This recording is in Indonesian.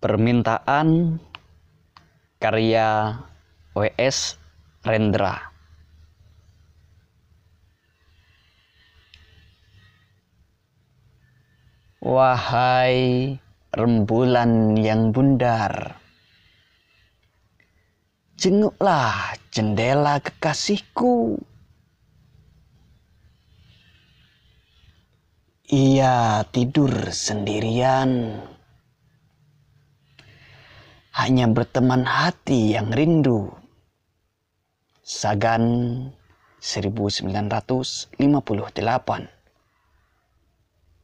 Permintaan karya W.S. Rendra. Wahai rembulan yang bundar, jenguklah jendela kekasihku. Ia tidur sendirian, hanya berteman hati yang rindu. Sagan 1958.